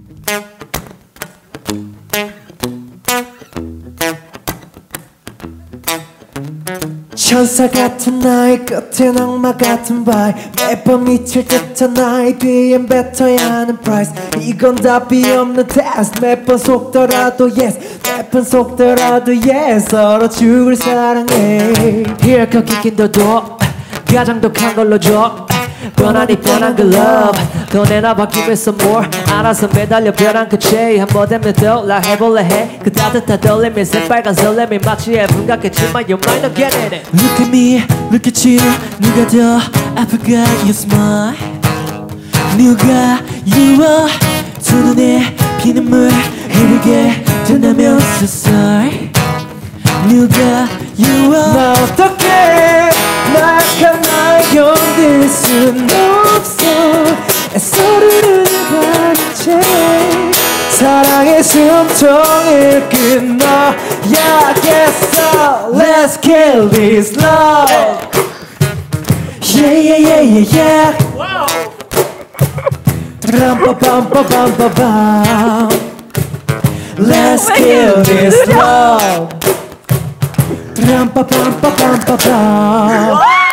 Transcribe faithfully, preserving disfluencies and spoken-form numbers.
천사 같은 나의 끝엔 악마 같은 바이 매번 미칠 듯한 나의 뒤엔 뱉어야 하는 price 이건 답이 없는 test 매번 속더라도 yes 매번 속더라도 yes 서로 죽을 사랑해 Here come kicking the door 가장 독한 걸로 줘 뻔하니 뻔한 그 love 더 내놔봐 give it some more 알아서 매달려 벼랑 끝에 한 번 되면 떠올라 해볼래 해 그 따뜻한 떨림이 새빨간 설렘이 마치 해분 같겠지만 you might not get it Look at me, look at you 누가 더 아플까 you smile 누가 you are 두 눈에 피눈물 흐르게 된다면 so sorry 누가 you are 나 어떡해 낙한 날 견딜 순 없어 애써르는 관체 사랑의 숨통을 끊어야겠어 Let's kill this love Yeah yeah yeah yeah yeah Ram-pa-pam-pa-pam-pa-pam Let's kill this love Ram-pa-pam-pa-pam-pa-pam